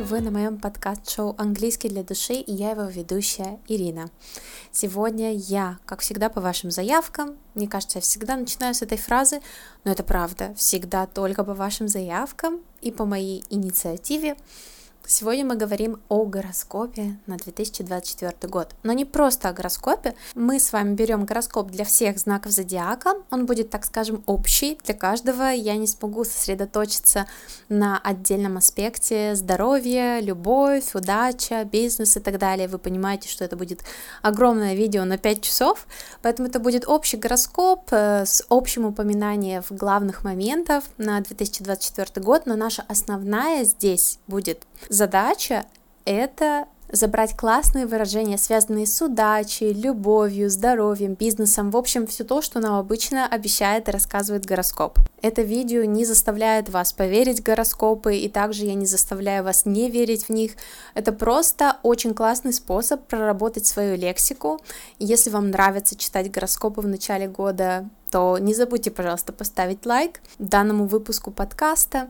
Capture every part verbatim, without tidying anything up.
Вы на моем подкаст-шоу «Английский для души», и я его ведущая Ирина. Сегодня я, как всегда, по вашим заявкам. Мне кажется, я всегда начинаю с этой фразы, но это правда, всегда только по вашим заявкам и по моей инициативе. Сегодня мы говорим о гороскопе на две тысячи двадцать четвёртый год. Но не просто о гороскопе. Мы с вами берем гороскоп для всех знаков зодиака. Он будет, так скажем, общий для каждого. Я не смогу сосредоточиться на отдельном аспекте: здоровье, любовь, удача, бизнес и так далее. Вы понимаете, что это будет огромное видео на пять часов. Поэтому это будет общий гороскоп с общим упоминанием главных моментов на две тысячи двадцать четвёртый год. Но наша основная здесь будет задача — это забрать классные выражения, связанные с удачей, любовью, здоровьем, бизнесом, в общем, все то, что нам обычно обещает и рассказывает гороскоп. Это видео не заставляет вас поверить в гороскопы, и также я не заставляю вас не верить в них. Это просто очень классный способ проработать свою лексику. Если вам нравится читать гороскопы в начале года, то не забудьте, пожалуйста, поставить лайк данному выпуску подкаста.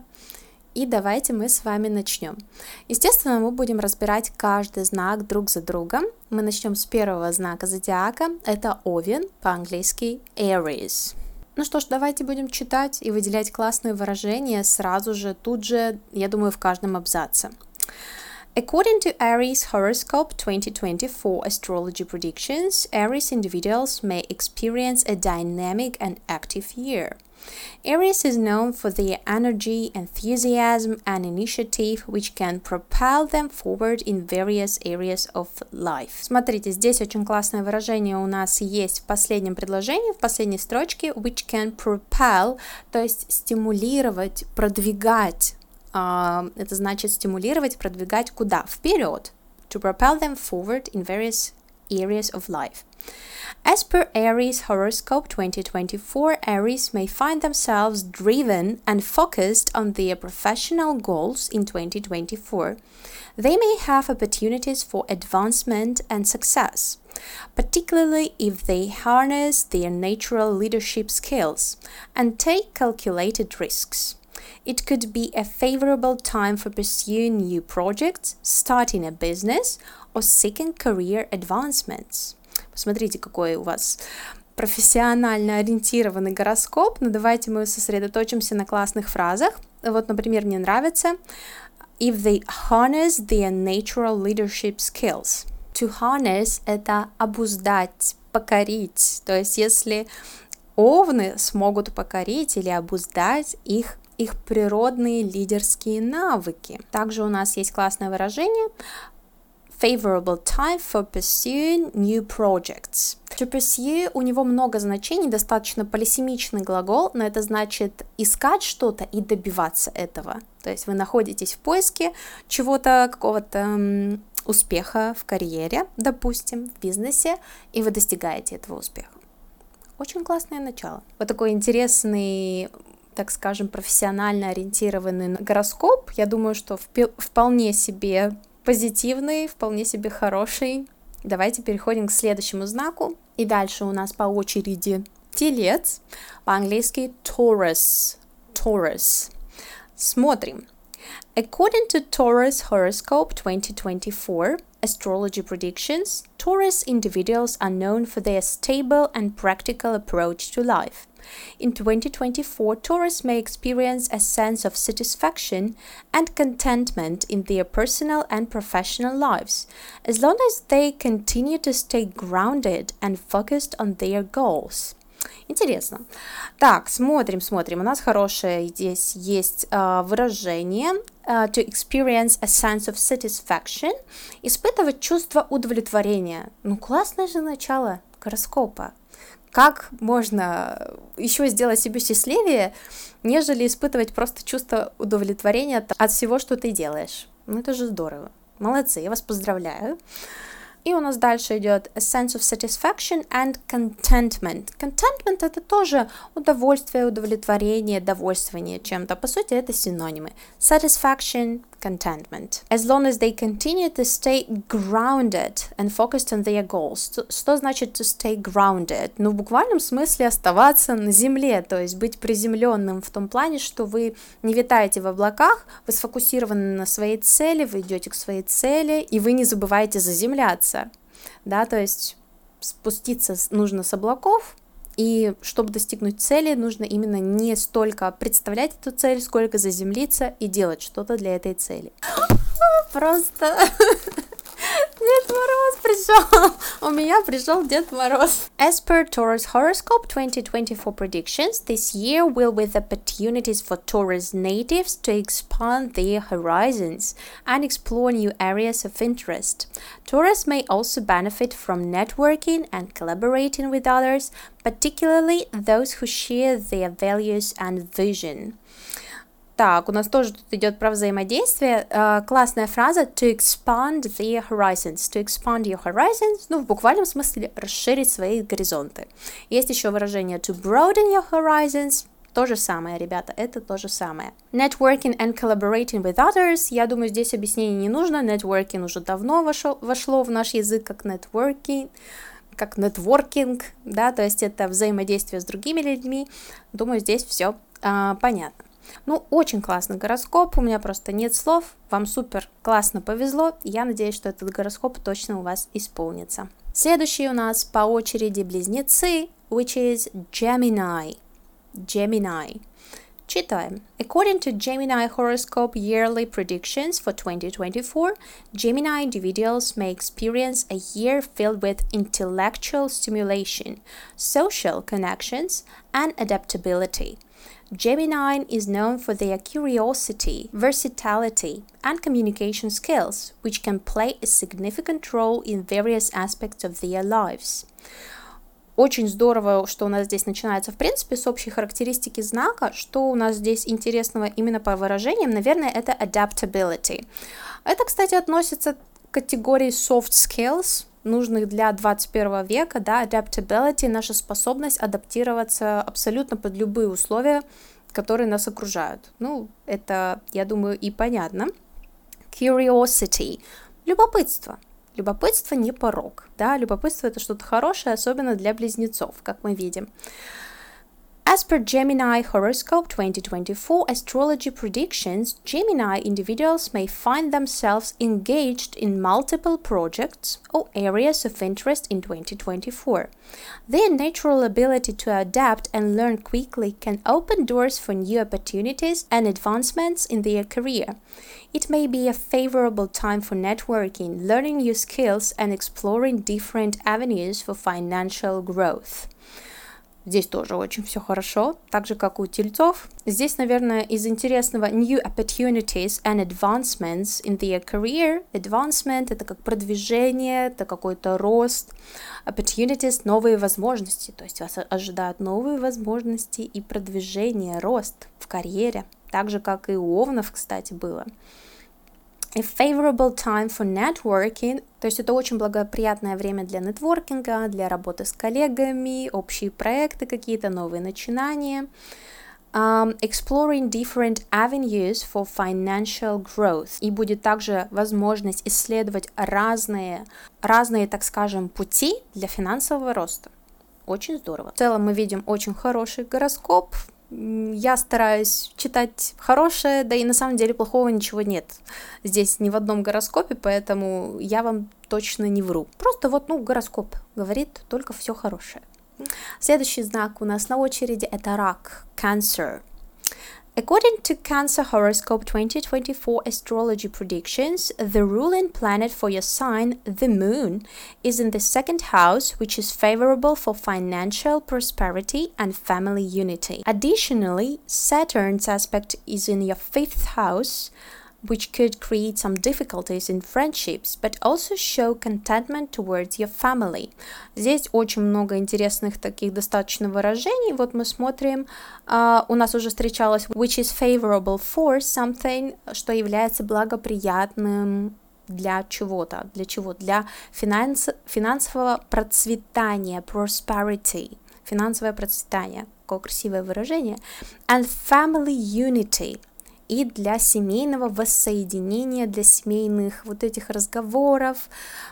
И давайте мы с вами начнем. Естественно, мы будем разбирать каждый знак друг за другом. Мы начнем с первого знака зодиака. Это Овен, по-английски Aries. Ну что ж, давайте будем читать и выделять классные выражения сразу же, тут же, я думаю, в каждом абзаце. According to Aries horoscope twenty twenty-four astrology predictions, Aries individuals may experience a dynamic and active year. Aries is known for their energy, enthusiasm, and initiative, which can propel them forward in various areas of life. Смотрите, здесь очень классное выражение у нас есть в последнем предложении, в последней строчке, which can propel, то есть стимулировать, продвигать. Uh, это значит стимулировать, продвигать куда? Вперед. To propel them forward in various areas of life. As per Aries horoscope twenty twenty-four, Aries may find themselves driven and focused on their professional goals in twenty twenty-four. They may have opportunities for advancement and success, particularly if they harness their natural leadership skills and take calculated risks. It could be a favorable time for pursuing new projects, starting a business, or seeking career advancements. Посмотрите, какой у вас профессионально ориентированный гороскоп, но давайте мы сосредоточимся на классных фразах. Вот, например, мне нравится if they harness their natural leadership skills. To harness — это обуздать, покорить. То есть, если овны смогут покорить или обуздать их их природные лидерские навыки. Также у нас есть классное выражение favorable time for pursuing new projects. To pursue у него много значений, достаточно полисемичный глагол, но это значит искать что-то и добиваться этого. То есть вы находитесь в поиске чего-то, какого-то м, успеха в карьере, допустим, в бизнесе, и вы достигаете этого успеха. Очень классное начало. Вот такой интересный, так скажем, профессионально ориентированный гороскоп. Я думаю, что вп- вполне себе позитивный, вполне себе хороший. Давайте переходим к следующему знаку. И дальше у нас по очереди Телец, по-английски Taurus. Taurus. Смотрим. According to Taurus horoscope twenty twenty-four astrology predictions, Taurus individuals are known for their stable and practical approach to life. In twenty twenty-four, Taurus may experience a sense of satisfaction and contentment in their personal and professional lives, as long as they continue to stay grounded and focused on their goals. Интересно. Так, смотрим, смотрим. У нас хорошее здесь есть uh, выражение uh, to experience a sense of satisfaction. Испытывать чувство удовлетворения. Ну, классное же начало гороскопа. Как можно еще сделать себе счастливее, нежели испытывать просто чувство удовлетворения от, от всего, что ты делаешь? Ну, это же здорово. Молодцы, я вас поздравляю. И у нас дальше идет a sense of satisfaction and contentment. Contentment — это тоже удовольствие, удовлетворение, довольствование чем-то. По сути, это синонимы. Satisfaction, contentment. As long as they continue to stay grounded and focused on their goals. Что значит to stay grounded? Ну, в буквальном смысле оставаться на земле, то есть быть приземленным в том плане, что вы не витаете в облаках, вы сфокусированы на своей цели, вы идете к своей цели, и вы не забываете заземляться, да, то есть спуститься нужно с облаков, и чтобы достигнуть цели, нужно именно не столько представлять эту цель, сколько заземлиться и делать что-то для этой цели. Просто Дед Мороз пришел. У меня пришел Дед Мороз. As per Taurus horoscope twenty twenty-four predictions, this year will with opportunities for Taurus natives to expand their horizons and explore new areas of interest. Taurus may also benefit from networking and collaborating with others, particularly those who share their values and vision. Так, у нас тоже тут идет про взаимодействие. Uh, классная фраза to expand their horizons. To expand your horizons, ну, в буквальном смысле расширить свои горизонты. Есть еще выражение to broaden your horizons. То же самое, ребята, это то же самое. Networking and collaborating with others. Я думаю, здесь объяснений не нужно. Networking уже давно вошло, вошло в наш язык как networking, как networking, да, то есть это взаимодействие с другими людьми. Думаю, здесь все uh, понятно. Ну, очень классный гороскоп, у меня просто нет слов, вам супер классно повезло, я надеюсь, что этот гороскоп точно у вас исполнится. Следующий у нас по очереди близнецы, which is Gemini. Gemini. Читаем. According to Gemini horoscope yearly predictions for twenty twenty-four, Gemini individuals may experience a year filled with intellectual stimulation, social connections, and adaptability. Gemini is known for their curiosity, versatility, and communication skills, which can play a significant role in various aspects of their lives. Очень здорово, что у нас здесь начинается, в принципе, с общей характеристики знака. Что у нас здесь интересного именно по выражениям? Наверное, это adaptability. Это, кстати, относится к категории soft skills, нужных для двадцать первого века, да, adaptability, наша способность адаптироваться абсолютно под любые условия, которые нас окружают. Ну, это, я думаю, и понятно. Curiosity, любопытство. Любопытство не порок, да, любопытство это что-то хорошее, особенно для близнецов, как мы видим. As per Gemini horoscope twenty twenty-four astrology predictions, Gemini individuals may find themselves engaged in multiple projects or areas of interest in twenty twenty-four. Their natural ability to adapt and learn quickly can open doors for new opportunities and advancements in their career. It may be a favorable time for networking, learning new skills, and exploring different avenues for financial growth. Здесь тоже очень все хорошо, так же, как у тельцов. Здесь, наверное, из интересного new opportunities and advancements in their career. Advancement — это как продвижение, это какой-то рост. Opportunities — новые возможности, то есть вас ожидают новые возможности и продвижение, рост в карьере. Так же, как и у овнов, кстати, было. A favorable time for networking, то есть это очень благоприятное время для нетворкинга, для работы с коллегами, общие проекты какие-то, новые начинания. Um, exploring different avenues for financial growth. И будет также возможность исследовать разные, разные, так скажем, пути для финансового роста. Очень здорово. В целом мы видим очень хороший гороскоп. Я стараюсь читать хорошее, да и на самом деле плохого ничего нет здесь ни в одном гороскопе, поэтому я вам точно не вру. Просто вот, ну, гороскоп говорит только все хорошее. Следующий знак у нас на очереди — это рак, Cancer. According to Cancer horoscope twenty twenty-four astrology predictions, the ruling planet for your sign, the moon, is in the second house, which is favorable for financial prosperity and family unity. Additionally, Saturn's aspect is in your fifth house, which could create some difficulties in friendships, but also show contentment towards your family. Здесь очень много интересных таких достаточно выражений. Вот мы смотрим, uh, у нас уже встречалось which is favorable for something, что является благоприятным для чего-то, для чего? Для финанс, финансового процветания, prosperity, финансовое процветание, какое красивое выражение, and family unity. и для семейного воссоединения, для семейных вот этих разговоров,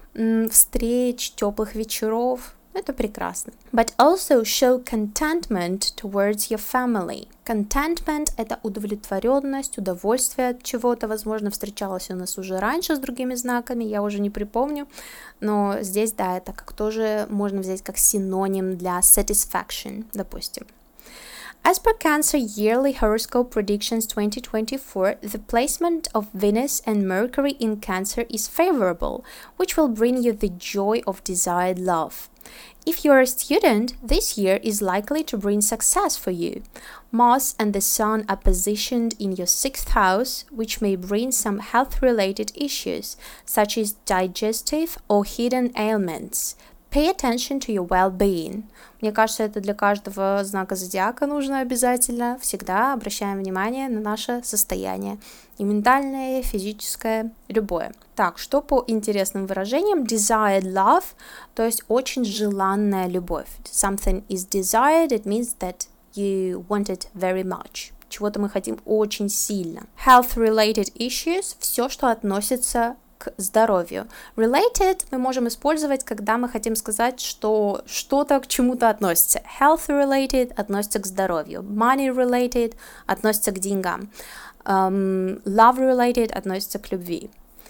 встреч, теплых вечеров. Это прекрасно. But also show contentment towards your family. Contentment — это удовлетворенность, удовольствие от чего-то. Возможно, встречалось у нас уже раньше с другими знаками, я уже не припомню. Но здесь, да, это как тоже можно взять как синоним для satisfaction, допустим. As per Cancer Yearly Horoscope Predictions twenty twenty-four, the placement of Venus and Mercury in Cancer is favorable, which will bring you the joy of desired love. If you are a student, this year is likely to bring success for you. Mars and the Sun are positioned in your sixth house, which may bring some health-related issues, such as digestive or hidden ailments. Pay attention to your well-being. Мне кажется, это для каждого знака зодиака нужно обязательно. Всегда обращаем внимание на наше состояние. И ментальное, и физическое, любое. Так, что по интересным выражениям? Desired love, то есть очень желанная любовь. Something is desired, it means that you want it very much. Чего-то мы хотим очень сильно. Health-related issues, все, что относится к здоровью. Related мы можем использовать, когда мы хотим сказать, что что-то к чему-то относится. Health related относится к здоровью. Money related относится к деньгам. Um, love related относится к любви.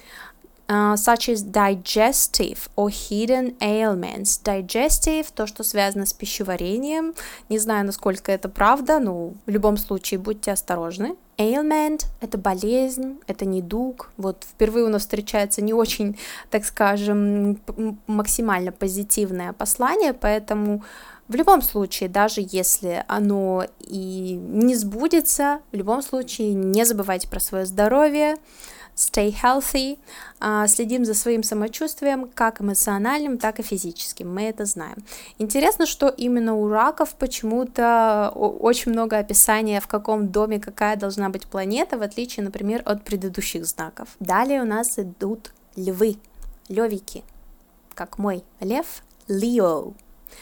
Uh, such as digestive or hidden ailments. Digestive — то, что связано с пищеварением. Не знаю, насколько это правда, но в любом случае будьте осторожны. Ailment — это болезнь, это недуг. Вот впервые у нас встречается не очень, так скажем, максимально позитивное послание, поэтому в любом случае, даже если оно и не сбудется, в любом случае не забывайте про свое здоровье. Stay healthy, uh, следим за своим самочувствием, как эмоциональным, так и физическим, мы это знаем. Интересно, что именно у раков почему-то очень много описания, в каком доме какая должна быть планета, в отличие, например, от предыдущих знаков. Далее у нас идут львы, левики, как мой лев, Leo.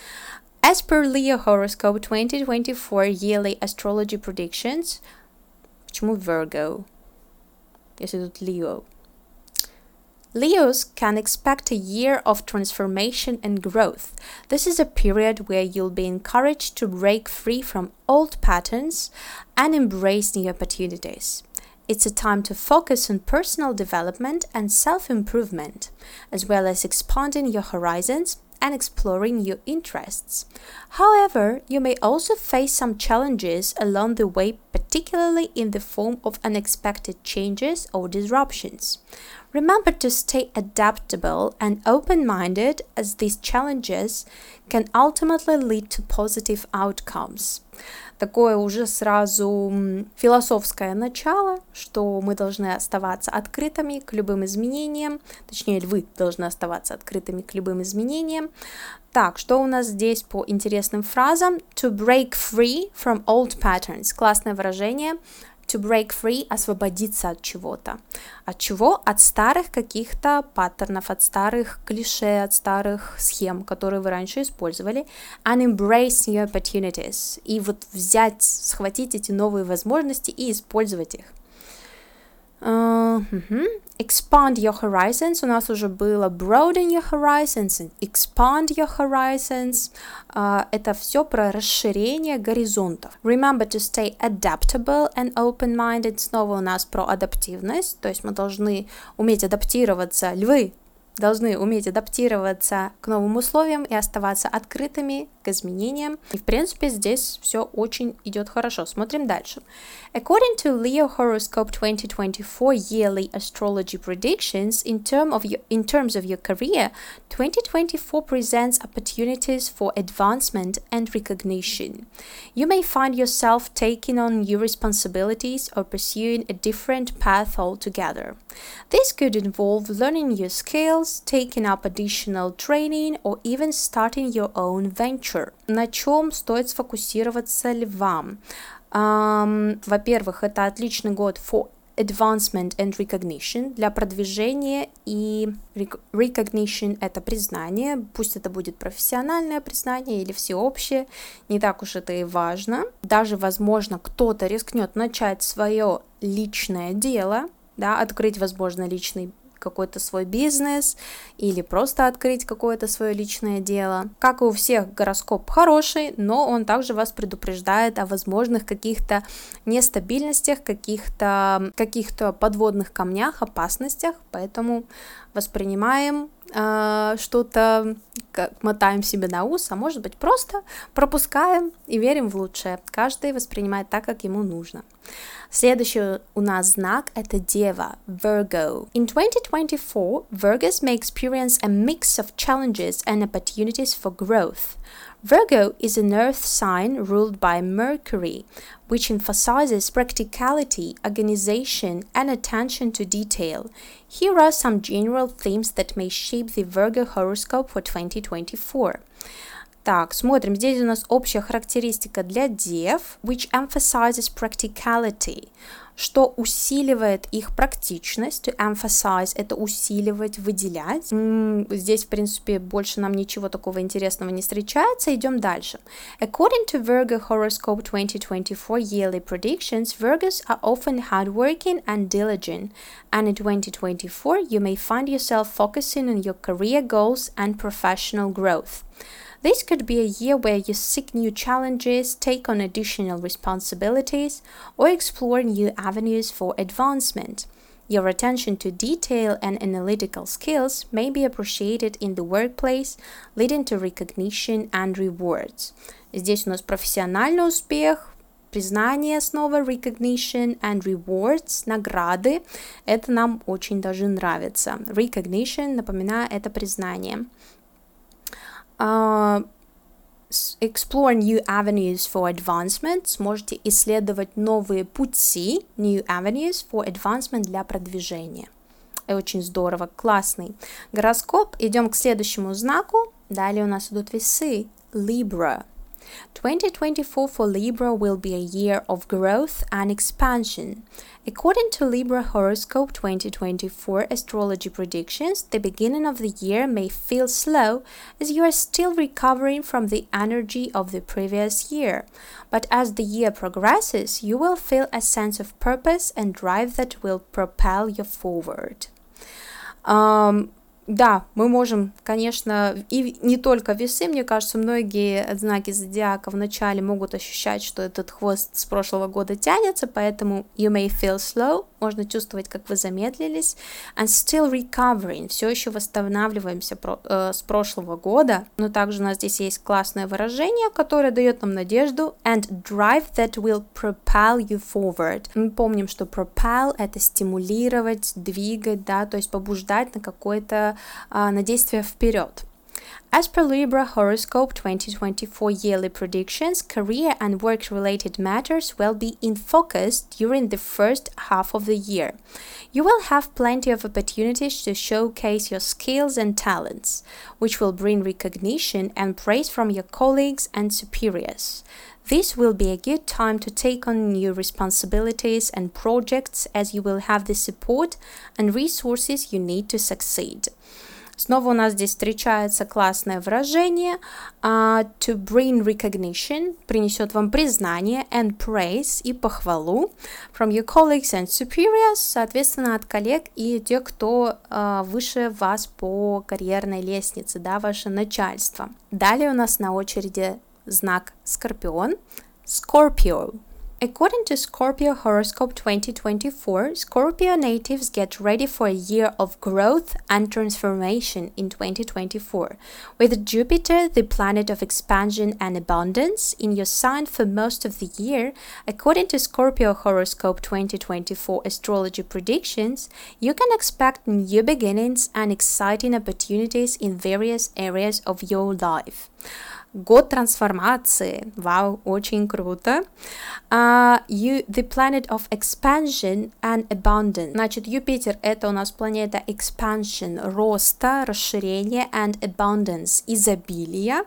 As per Leo Horoscope twenty twenty-four Yearly Astrology Predictions, почему Virgo? Если тут Leo. Leos can expect a year of transformation and growth. This is a period where you'll be encouraged to break free from old patterns and embrace new opportunities. It's a time to focus on personal development and self-improvement, as well as expanding your horizons and exploring your interests. However, you may also face some challenges along the way, particularly in the form of unexpected changes or disruptions. Remember to stay adaptable and open-minded, as these challenges can ultimately lead to positive outcomes. Такое уже сразу философское начало, что мы должны оставаться открытыми к любым изменениям, точнее, вы должны оставаться открытыми к любым изменениям. Так, что у нас здесь по интересным фразам? To break free from old patterns. Классное выражение. To break free — освободиться от чего-то. От чего? От старых каких-то паттернов, от старых клише, от старых схем, которые вы раньше использовали. And embrace new opportunities. И вот взять, схватить эти новые возможности и использовать их. Uh, uh-huh. Expand your horizons. У нас уже было broaden your horizons and expand your horizons. Uh, это все про расширение горизонтов. Remember to stay adaptable and open-minded. Снова у нас про адаптивность. То есть мы должны уметь адаптироваться. Львы должны уметь адаптироваться к новым условиям и оставаться открытыми к изменениям. И, в принципе, здесь все очень идет хорошо. Смотрим дальше. According to Leo Horoscope twenty twenty-four Yearly Astrology Predictions, in, term of your, in terms of your career, twenty twenty-four presents opportunities for advancement and recognition. You may find yourself taking on new responsibilities or pursuing a different path altogether. This could involve learning new skills, taking up additional training, or even starting your own venture. На чем стоит сфокусироваться львам? Um, во-первых, это отличный год for advancement and recognition, для продвижения, и recognition — это признание, пусть это будет профессиональное признание или всеобщее, не так уж это и важно. Даже, возможно, кто-то рискнет начать свое личное дело, да, открыть, возможно, личный какой-то свой бизнес или просто открыть какое-то свое личное дело. Как и у всех, гороскоп хороший, но он также вас предупреждает о возможных каких-то нестабильностях, каких-то каких-то подводных камнях, опасностях, поэтому воспринимаем э, что-то, как мотаем себе на ус, а может быть просто пропускаем и верим в лучшее. Каждый воспринимает так, как ему нужно. Следующий у нас знак — это Дева, Virgo. In twenty twenty-four, Virgos may experience a mix of challenges and opportunities for growth. Virgo is an earth sign ruled by Mercury, which emphasizes practicality, organization, and attention to detail. Here are some general themes that may shape the Virgo horoscope for twenty twenty-four. Так, смотрим, здесь у нас общая характеристика для дев, which emphasizes practicality, что усиливает их практичность. To emphasize — это усиливать, выделять. М-м, здесь, в принципе, больше нам ничего такого интересного не встречается. Идем дальше. According to Virgo Horoscope twenty twenty-four yearly predictions, Virgos are often hardworking and diligent, and in twenty twenty-four you may find yourself focusing on your career goals and professional growth. This could be a year where you seek new challenges, take on additional responsibilities, or explore new avenues for advancement. Your attention to detail and analytical skills may be appreciated in the workplace, leading to recognition and rewards. Здесь у нас профессиональный успех, признание снова, recognition and rewards, награды. Это нам очень даже нравится. Recognition, напоминаю, это признание. Uh, explore new avenues for advancement. Сможете исследовать новые пути, new avenues for advancement, для продвижения. И очень здорово, классный гороскоп. Идем к следующему знаку. Далее у нас идут весы. Libra. twenty twenty-four for Libra will be a year of growth and expansion. According to Libra Horoscope twenty twenty-four astrology predictions, the beginning of the year may feel slow as you are still recovering from the energy of the previous year. But as the year progresses, you will feel a sense of purpose and drive that will propel you forward. Um, Да, мы можем, конечно, и не только весы, мне кажется, многие знаки зодиака вначале могут ощущать, что этот хвост с прошлого года тянется, поэтому you may feel slow, можно чувствовать, как вы замедлились, and still recovering, все еще восстанавливаемся про, э, с прошлого года, но также у нас здесь есть классное выражение, которое дает нам надежду, and drive that will propel you forward. Мы помним, что propel — это стимулировать, двигать, да, то есть побуждать на какой-то на действие вперед. As per Libra Horoscope twenty twenty-four yearly predictions, career and work-related matters will be in focus during the first half of the year. You will have plenty of opportunities to showcase your skills and talents, which will bring recognition and praise from your colleagues and superiors. This will be a good time to take on new responsibilities and projects, as you will have the support and resources you need to succeed. Снова у нас здесь встречается классное выражение uh, to bring recognition, принесет вам признание, and praise, и похвалу from your colleagues and superiors, соответственно, от коллег и тех, кто uh, выше вас по карьерной лестнице, да, ваше начальство. Далее у нас на очереди знак Скорпион, Scorpio. According to Scorpio Horoscope twenty twenty-four, Scorpio natives get ready for a year of growth and transformation in twenty twenty-four, with Jupiter, the planet of expansion and abundance, in your sign for most of the year. According to Scorpio Horoscope twenty twenty-four astrology predictions, you can expect new beginnings and exciting opportunities in various areas of your life. Год трансформации. Вау, очень круто. Uh, you, the planet of expansion and abundance. Значит, Юпитер — это у нас планета expansion, роста, расширения, and abundance, изобилия.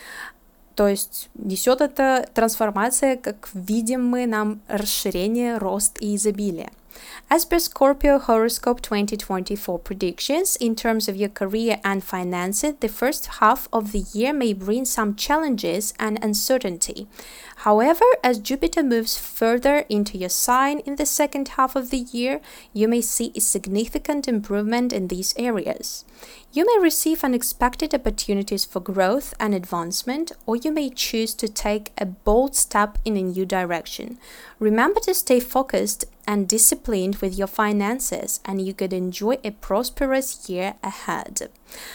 То есть несет эта трансформация, как видим мы, нам расширение, рост и изобилие. As per Scorpio horoscope twenty twenty-four predictions, in terms of your career and finances, the first half of the year may bring some challenges and uncertainty. However, as Jupiter moves further into your sign in the second half of the year, you may see a significant improvement in these areas. You may receive unexpected opportunities for growth and advancement, or you may choose to take a bold step in a new direction. Remember to stay focused and disciplined with your finances, and you could enjoy a prosperous year ahead.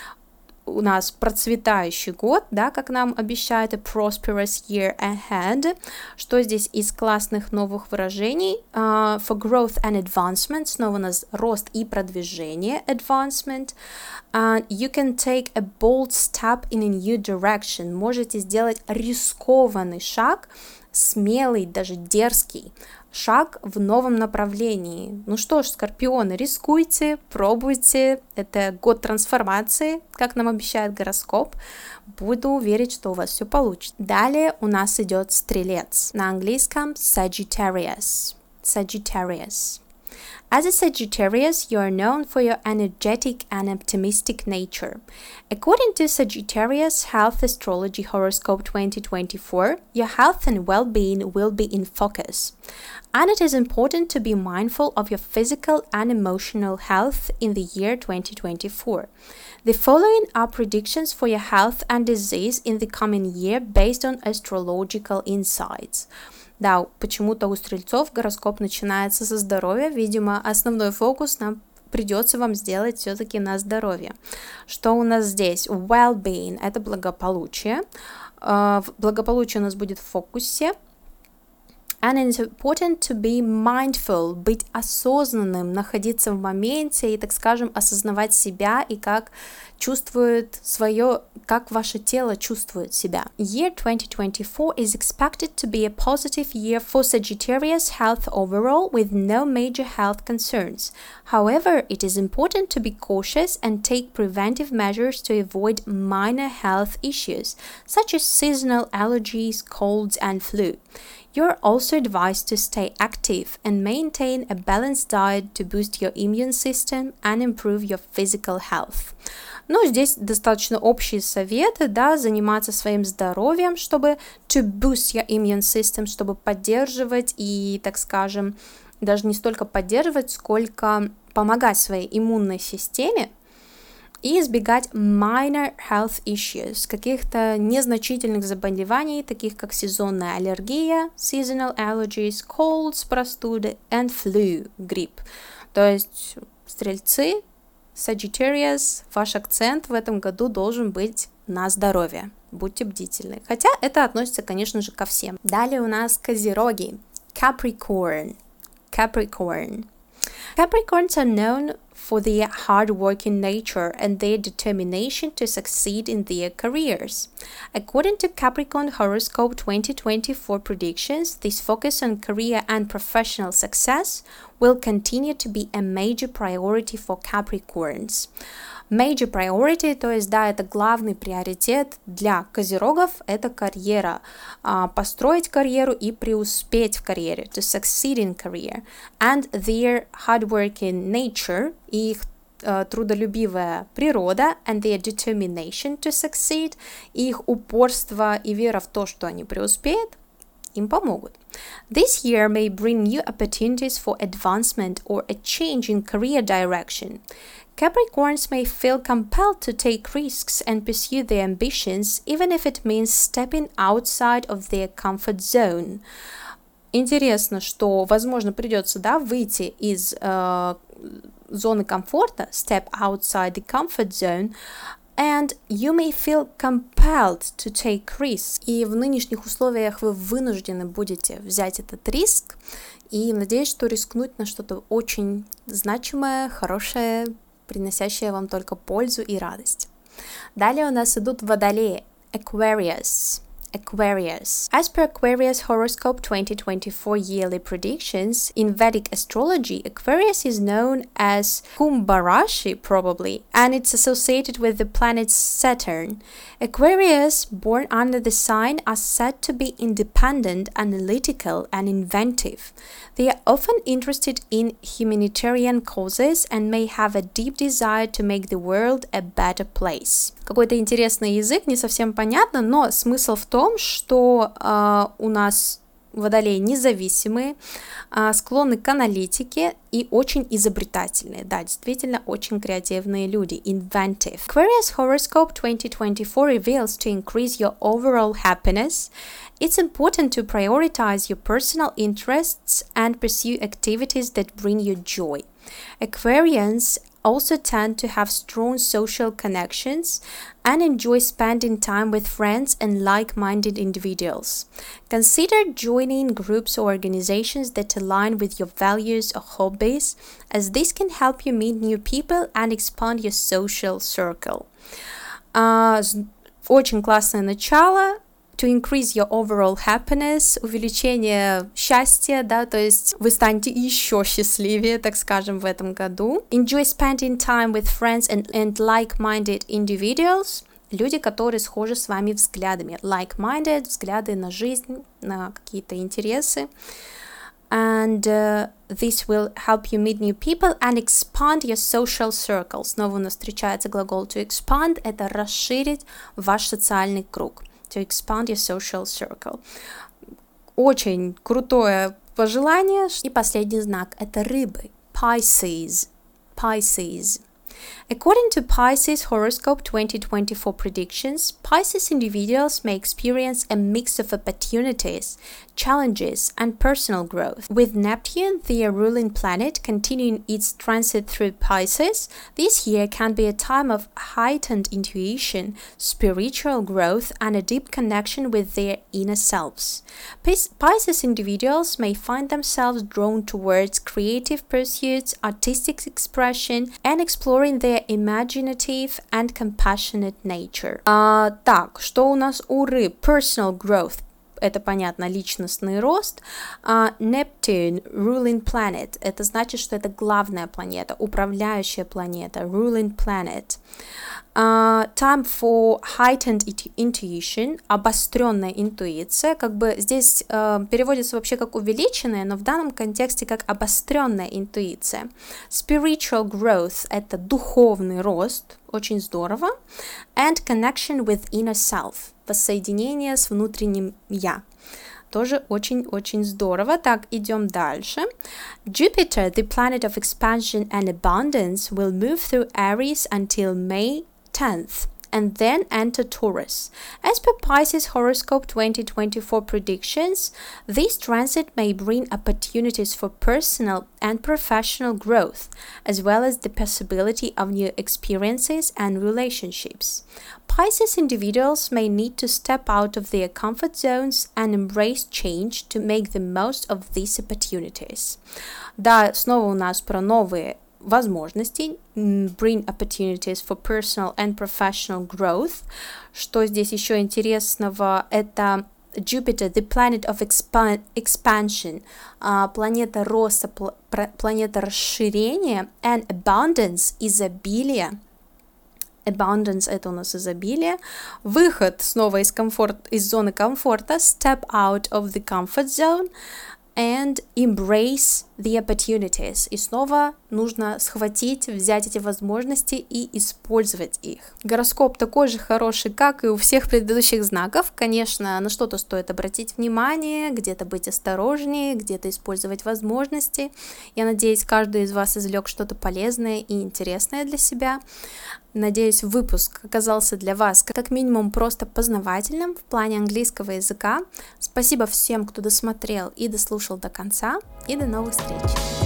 У нас процветающий год, да, как нам обещает, a prosperous year ahead. Что здесь из классных новых выражений? Uh, for growth and advancement, снова у нас рост и продвижение, advancement. Uh, you can take a bold step in a new direction. Можете сделать рискованный шаг, смелый, даже дерзкий шаг в новом направлении. Ну что ж, скорпионы, рискуйте, пробуйте. Это год трансформации, как нам обещает гороскоп. Буду верить, что у вас все получится. Далее у нас идет стрелец. На английском Sagittarius. Sagittarius. As a Sagittarius, you are known for your energetic and optimistic nature. According to Sagittarius Health Astrology Horoscope twenty twenty-four, your health and well-being will be in focus. And it is important to be mindful of your physical and emotional health in the year twenty twenty-four. The following are predictions for your health and disease in the coming year based on astrological insights. Да, почему-то у стрельцов гороскоп начинается со здоровья. Видимо, основной фокус нам придется вам сделать все-таки на здоровье. Что у нас здесь? Well-being – это благополучие. Благополучие у нас будет в фокусе. And it's important to be mindful, быть осознанным, находиться в моменте и, так скажем, осознавать себя и как чувствует свое, как ваше тело чувствует себя. Year twenty twenty-four is expected to be a positive year for Sagittarius health overall with no major health concerns. However, it is important to be cautious and take preventive measures to avoid minor health issues, such as seasonal allergies, colds, and flu. You're also advised to stay active and maintain a balanced diet to boost your immune system and improve your physical health. Ну, здесь достаточно общие советы, да, заниматься своим здоровьем, чтобы to boost your immune system, чтобы поддерживать и, так скажем, даже не столько поддерживать, сколько помогать своей иммунной системе, и избегать minor health issues, каких-то незначительных заболеваний, таких как сезонная аллергия, seasonal allergies, colds, простуды, and flu, грипп. То есть, стрельцы, Sagittarius, ваш акцент в этом году должен быть на здоровье. Будьте бдительны. Хотя это относится, конечно же, ко всем. Далее у нас козероги. Capricorn. Capricorn. Capricorns are known for their hard-working nature and their determination to succeed in their careers. According to Capricorn Horoscope twenty twenty-four predictions, this focus on career and professional success will continue to be a major priority for Capricorns. Major priority, то есть, да, это главный приоритет для козерогов, это карьера, а, построить карьеру и преуспеть в карьере, to succeed in career, and their hardworking nature, и их uh, трудолюбивая природа, and their determination to succeed, и их упорство и вера в то, что они преуспеют, им помогут. This year may bring new opportunities for advancement or a change in career direction. Capricorns may feel compelled to take risks and pursue their ambitions, even if it means stepping outside of their comfort zone. Интересно, что, возможно, придется, да, выйти из э, зоны комфорта, step outside the comfort zone, and you may feel compelled to take risks. И в нынешних условиях вы вынуждены будете взять этот риск, и надеюсь, что рискнуть на что-то очень значимое, хорошее, приносящее вам только пользу и радость. Далее у нас идут водолеи. Aquarius. Aquarius. As per Aquarius horoscope twenty twenty-four yearly predictions, in Vedic astrology, Aquarius is known as Kumbharashi probably, and it's associated with the planet Saturn. Aquarius, born under the sign, are said to be independent, analytical, and inventive. They are often interested in humanitarian causes and may have a deep desire to make the world a better place. Какой-то интересный язык, не совсем понятно, но смысл в том, что э, у нас водолеи независимые, э, склонны к аналитике и очень изобретательные. Да, действительно, очень креативные люди. Inventive. Aquarius horoscope twenty twenty-four reveals to increase your overall happiness. It's important to prioritize your personal interests and pursue activities that bring you joy. Aquarians also tend to have strong social connections and enjoy spending time with friends and like-minded individuals. Consider joining groups or organizations that align with your values or hobbies, as this can help you meet new people and expand your social circle. Uh, очень классное начало. To increase your overall happiness, увеличение счастья, да, то есть вы станете еще счастливее, так скажем, в этом году. Enjoy spending time with friends and, and like-minded individuals. Люди, которые схожи с вами взглядами. Like-minded, взгляды на жизнь, на какие-то интересы. And uh, this will help you meet new people and expand your social circle. Снова у нас встречается глагол to expand, это расширить ваш социальный круг. To expand your social circle. Очень крутое пожелание. И последний знак – это рыбы. Pisces. Pisces. According to Pisces horoscope twenty twenty-four predictions, Pisces individuals may experience a mix of opportunities, challenges, and personal growth. With Neptune, their ruling planet, continuing its transit through Pisces, this year can be a time of heightened intuition, spiritual growth, and a deep connection with their inner selves. Pisces individuals may find themselves drawn towards creative pursuits, artistic expression, and exploring their imaginative and compassionate nature. А, так, что у нас у рыб? Personal growth. Это понятно, личностный рост. Uh, Neptune, ruling planet. Это значит, что это главная планета, управляющая планета, ruling planet. Uh, time for heightened intuition, обостренная интуиция, как бы здесь uh, переводится вообще как увеличенная, но в данном контексте как обостренная интуиция. Spiritual growth – это духовный рост, очень здорово. And connection with inner self – воссоединение с внутренним я. Тоже очень-очень здорово. Так, идем дальше. Jupiter, the planet of expansion and abundance, will move through Aries until May tenth and then enter Taurus. As per Pisces horoscope twenty twenty-four predictions, this transit may bring opportunities for personal and professional growth, as well as the possibility of new experiences and relationships. Pisces individuals may need to step out of their comfort zones and embrace change to make the most of these opportunities. Да, снова у нас про новые возможности, bring opportunities for personal and professional growth. Что здесь еще интересного? Это Jupiter, the planet of expan- expansion, uh, планета роста, пл- планета расширения, and abundance, изобилие. Abundance – это у нас изобилие. Выход снова из, комфорт, из зоны комфорта, step out of the comfort zone, and embrace the opportunities. И снова нужно схватить, взять эти возможности и использовать их. Гороскоп такой же хороший, как и у всех предыдущих знаков. Конечно, на что-то стоит обратить внимание, где-то быть осторожнее, где-то использовать возможности. Я надеюсь, каждый из вас извлек что-то полезное и интересное для себя. Надеюсь, выпуск оказался для вас как минимум просто познавательным в плане английского языка. Спасибо всем, кто досмотрел и дослушал до конца. И до новых встреч!